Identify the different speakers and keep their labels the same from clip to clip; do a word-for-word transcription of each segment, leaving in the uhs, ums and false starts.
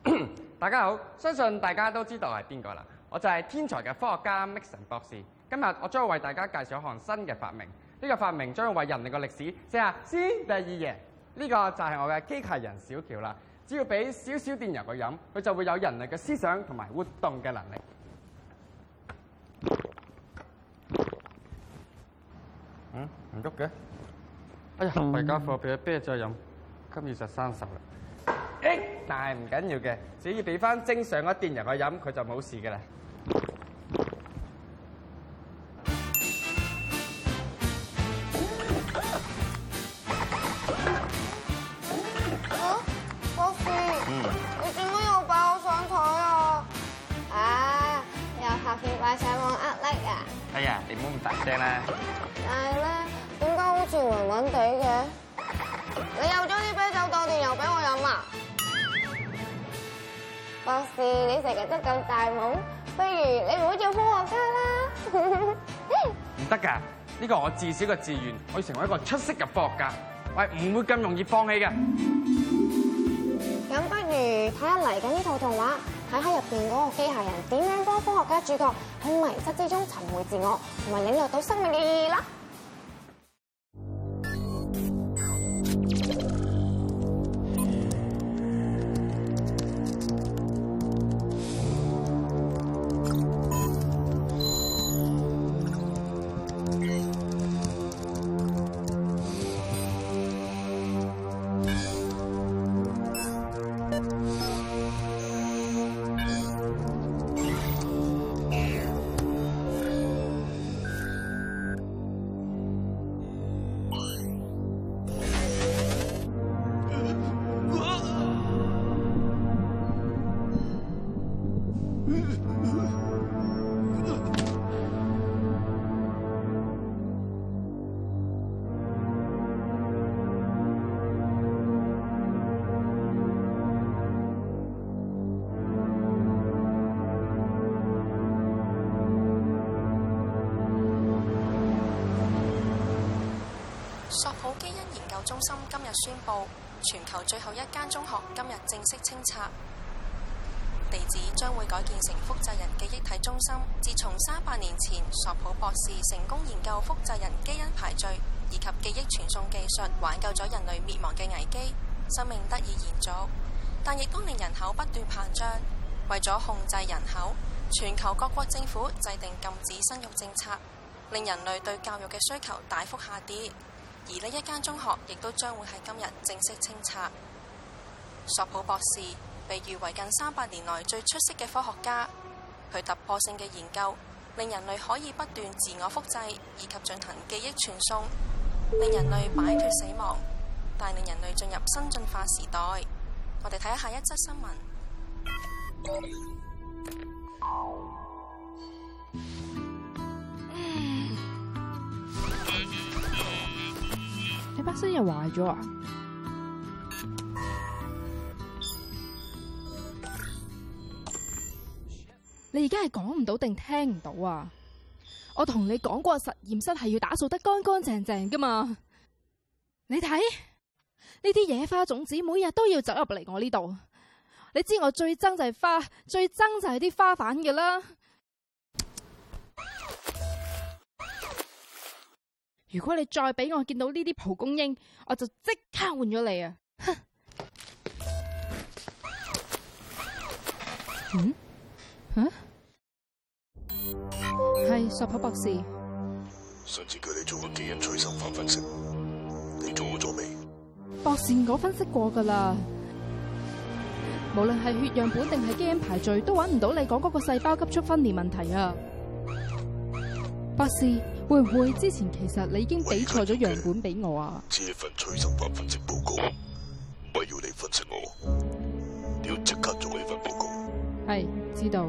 Speaker 1: 大家好，相信大家都知道係邊個啦。我就係天才嘅科學家 Mixon 博士。今日我將會為大家介紹一項新嘅發明。呢、這個發明將會為人類嘅歷史寫下先第二頁。呢、這個就係我嘅機械人小喬啦。只要俾少少電油佢飲，佢就會有人類嘅思想同埋活動嘅能力。嗯，唔喐嘅。哎呀，弊家伙，俾咗啤酒飲，今日就生鏽啦。誒，但係唔緊要嘅，只要俾翻正常嘅電油佢飲，佢就冇事嘅啦。
Speaker 2: 啊，博士，嗯，你做乜又擺我上台啊？啊，又拍片擺上網呃 like 啊？
Speaker 1: 哎呀，你唔好咁大聲啦。
Speaker 2: 但係咧，點解好似暈暈地嘅？你又將啲啤酒當電油俾我飲啊？博士，你成日都咁大懵，不如你唔好做科學家啦。
Speaker 1: 唔得㗎，呢個我至少嘅志願，我要成為一個出色嘅科學家，我係唔會咁容易放棄嘅。
Speaker 2: 咁不如睇下嚟緊呢套動畫，睇下入邊嗰個機械人點樣幫科學家主角喺迷失之中尋回自我，同埋領略到生命嘅意義啦。
Speaker 3: 索普基因研究中心今日宣布，全球最後一間中學今日正式清拆，地址將會改建成複製人記憶體中心。自從三百年前索普博士成功研究複製人基因排序以及記憶傳送技術，挽救咗人類滅亡嘅危機，生命得以延續，但亦都令人口不斷膨脹。為咗控制人口，全球各國政府制定禁止生育政策，令人類對教育嘅需求大幅下跌。而呢一間中學亦都將會喺今日正式清拆。索普博士被譽為近三百年來最出色嘅科學家，佢突破性嘅研究令人類可以不斷自我複製以及進行記憶傳送，令人類擺脫死亡，帶領人類進入新進化時代。我哋睇下一則新聞。
Speaker 4: 你把聲又壞咗啊？你而家係講唔到定聽唔到啊？我同你講過實驗室係要打掃得乾乾淨淨噶嘛？你睇呢啲野花種子每日都要走入嚟我呢度，你知我最憎就係花，最憎就係啲花瓣嘅啦。如果你再俾我見到呢啲蒲公英，我就即刻換咗你啊！哼。嗯？吓？係索普博士。
Speaker 5: 上次叫你做個基因催生法分析，你做咗未？
Speaker 4: 博士，我分析過噶啦。無論係血樣本定係基因排序，都揾唔到你講嗰個細胞急速分裂問題啊！博士，會唔會之前其實你已經俾錯咗樣本俾我啊？
Speaker 5: 只係份催生法分析報告，我要你分析我，你要即刻做呢份報告。
Speaker 4: 係，知道。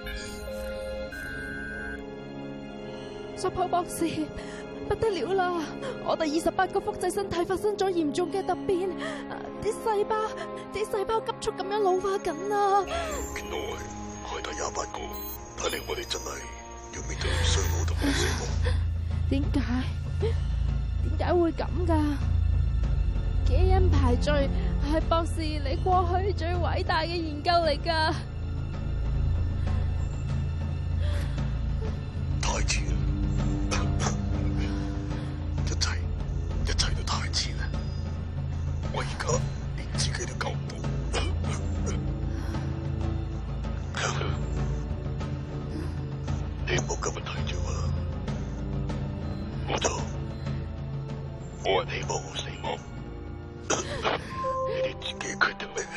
Speaker 4: 索普博士，不得了啦！我哋二十八個複製身體發生咗嚴重嘅突變，啲細胞啲細胞急速咁樣老化緊啊！
Speaker 5: 原來係第廿八個，睇嚟我哋真係要面對衰老同埋死亡。
Speaker 4: 點解？點解會咁噶？基因排序係博士你過去最偉大嘅研究嚟噶。
Speaker 5: 太遲啦！一切一切都太遲啦！我而家連自己都救唔到。你唔好今日睇住我啦，我就我係希望我死亡。你哋自己決定嚟嘅。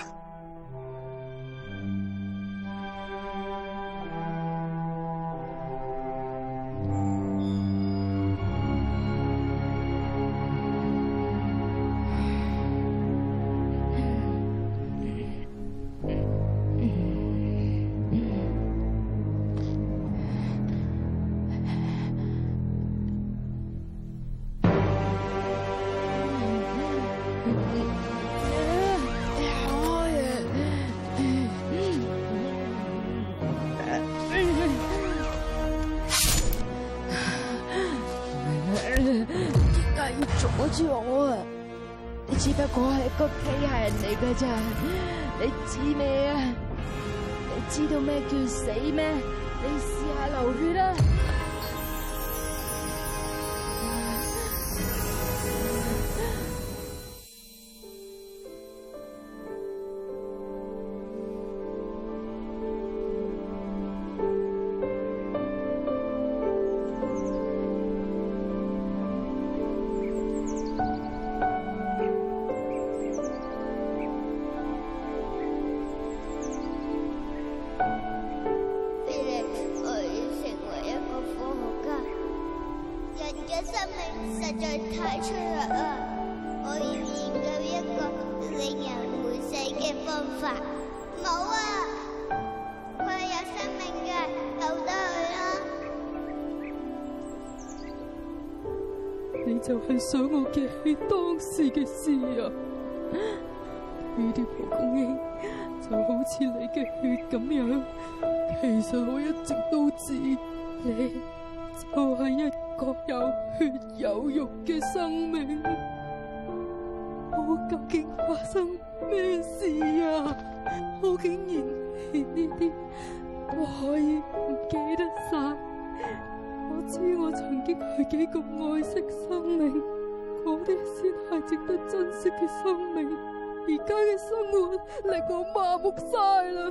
Speaker 4: 阻住我啊！你只不過係一個機械人嚟㗎咋？你知咩啊？你知道咩叫死咩？你試下流血啦！
Speaker 2: 生命實在太脆弱啦！我要研究一個令人會死嘅方法。冇啊，佢係有生命嘅，由得佢啦。
Speaker 6: 你就係想我記起當時嘅事啊？呢啲蒲公英就好似你嘅血咁樣，其實我一直都知你就係一個有血有肉嘅生命。我究竟發生咩事啊？我竟然連呢啲都可以唔記得晒。我知我曾經係幾咁愛惜生命，嗰啲先係值得珍惜嘅生命。而家嘅生活令我麻木晒啦。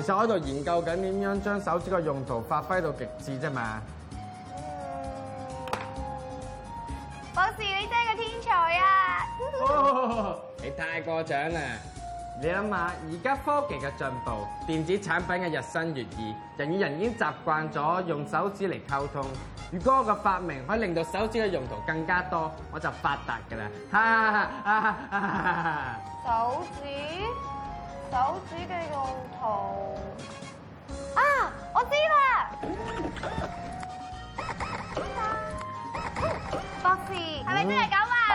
Speaker 1: 實我喺度研究緊點樣將手指嘅用途發揮到極致啫嘛。
Speaker 2: 博士，你真係個天才啊！
Speaker 1: 哦，你太過獎啦！你諗下，而家科技嘅進步，電子產品嘅日新月異，人與人已經習慣咗用手指嚟溝通。如果我嘅發明可以令到手指嘅用途更加多，我就發達㗎啦！哈哈哈哈哈哈！
Speaker 2: 手指，手指嘅用途啊！我知啦，博士係咪真係咁啊？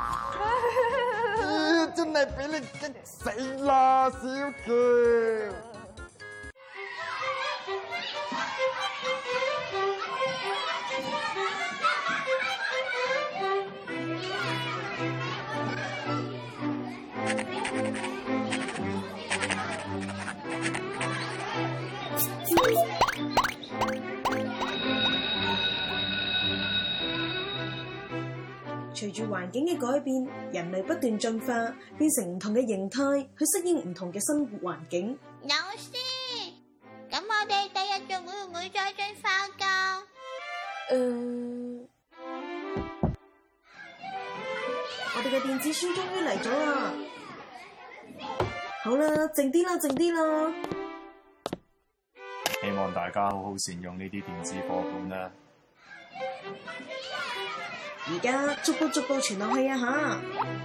Speaker 1: 真係俾你激死啦，小喬！
Speaker 7: 隨住環境嘅改變，人類不斷進化，變成唔同嘅形態，去適應唔同嘅生活環境。
Speaker 2: 老師，咁我哋第日仲會唔會再進化㗎？
Speaker 7: 誒、呃，我哋嘅電子書終於嚟咗啦！好啦，靜啲啦，靜啲啦！
Speaker 8: 希望大家好好善用呢啲電子課本啦。
Speaker 7: 而家逐步逐步傳落去啊吓！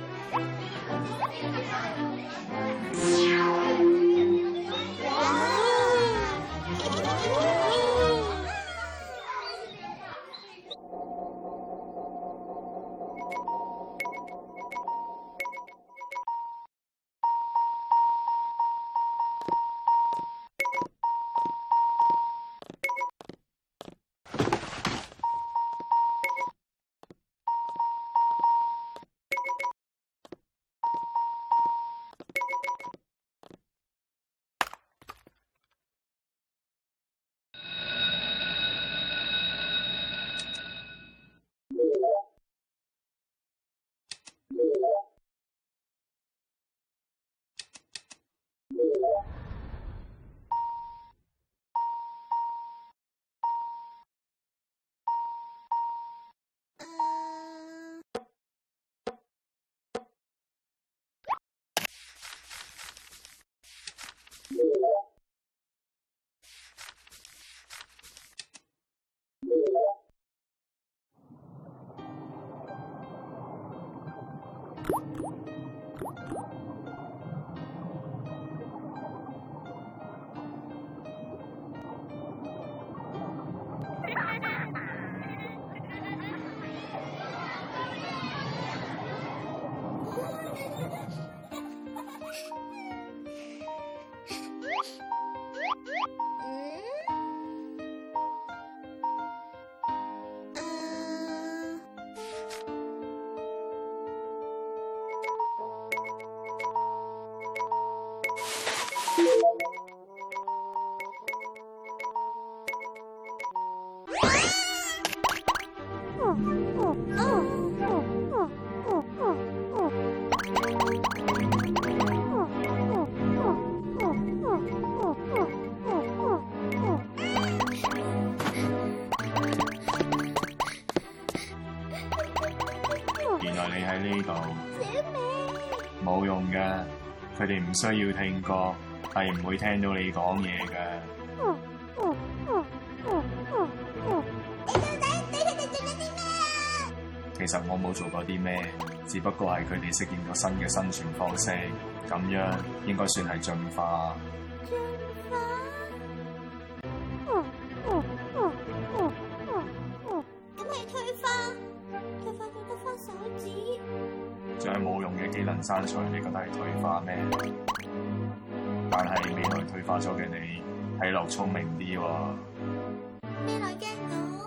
Speaker 8: 原來你喺呢度，冇用嘅，佢哋唔需要聽歌，係唔會聽到你講嘢嘅。其實我冇做過啲咩，只不過係佢哋適應咗新嘅生存方式，咁樣應該算係進化。
Speaker 2: 進化？咁係退化？退化到得返手指？
Speaker 8: 將冇用嘅技能刪除，你覺得係退化咩？但係未來退化咗嘅你，睇落聰明啲喎。
Speaker 2: 未來嘅我。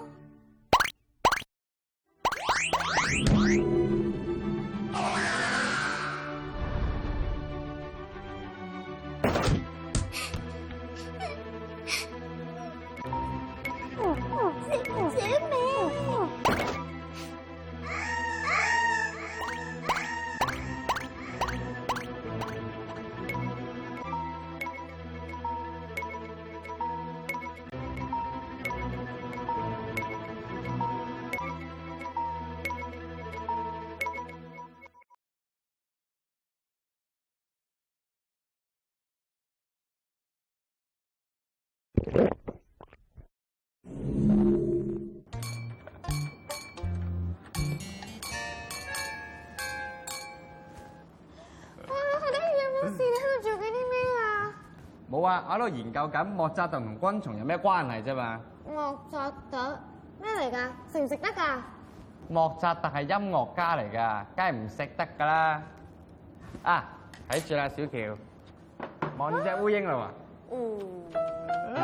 Speaker 1: 冇啊，我喺度研究緊莫扎特同昆蟲有咩關係啫嘛。
Speaker 9: 莫扎特咩嚟㗎？食唔食得㗎？
Speaker 1: 莫扎特係音樂家嚟㗎，梗係唔食得㗎啦。啊，睇住啦，小喬，望住隻烏蠅啦喎。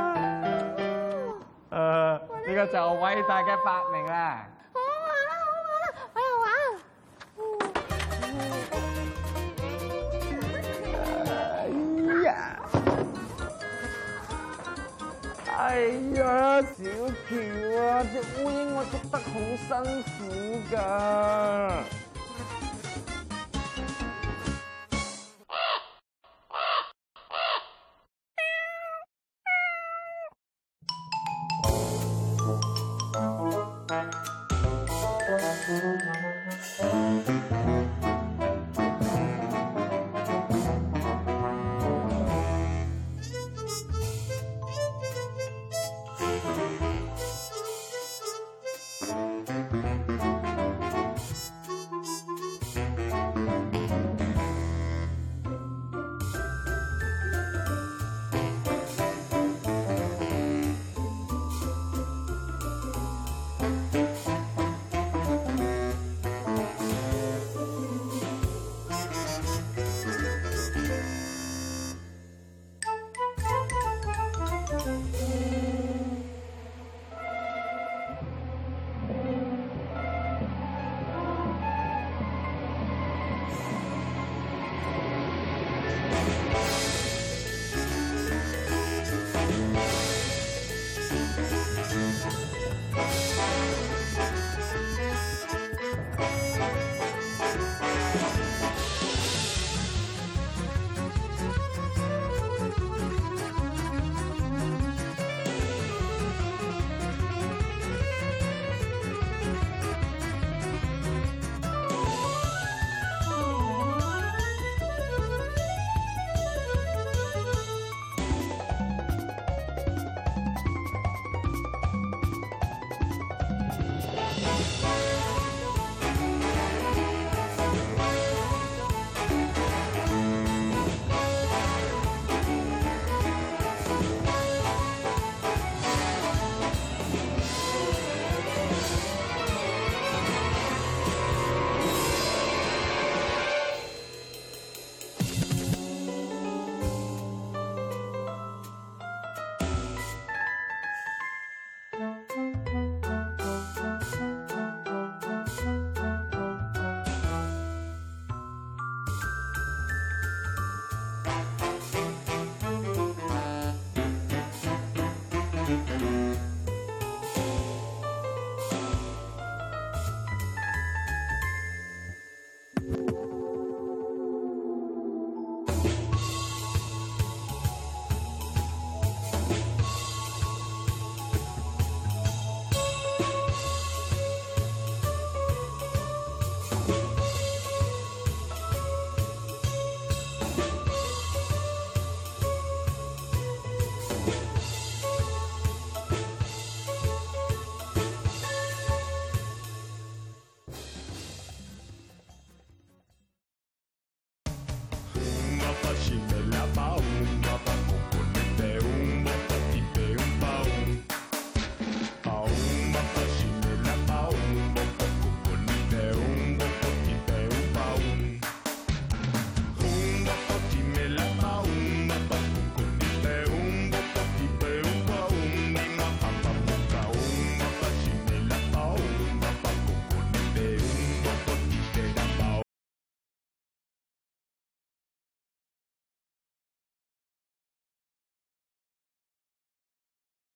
Speaker 1: 誒，呢個就係偉大嘅發明啦。
Speaker 9: 好玩啦，好玩啦，我又玩。
Speaker 1: 哎呀，小喬啊，隻烏蠅我捉得好辛苦㗎。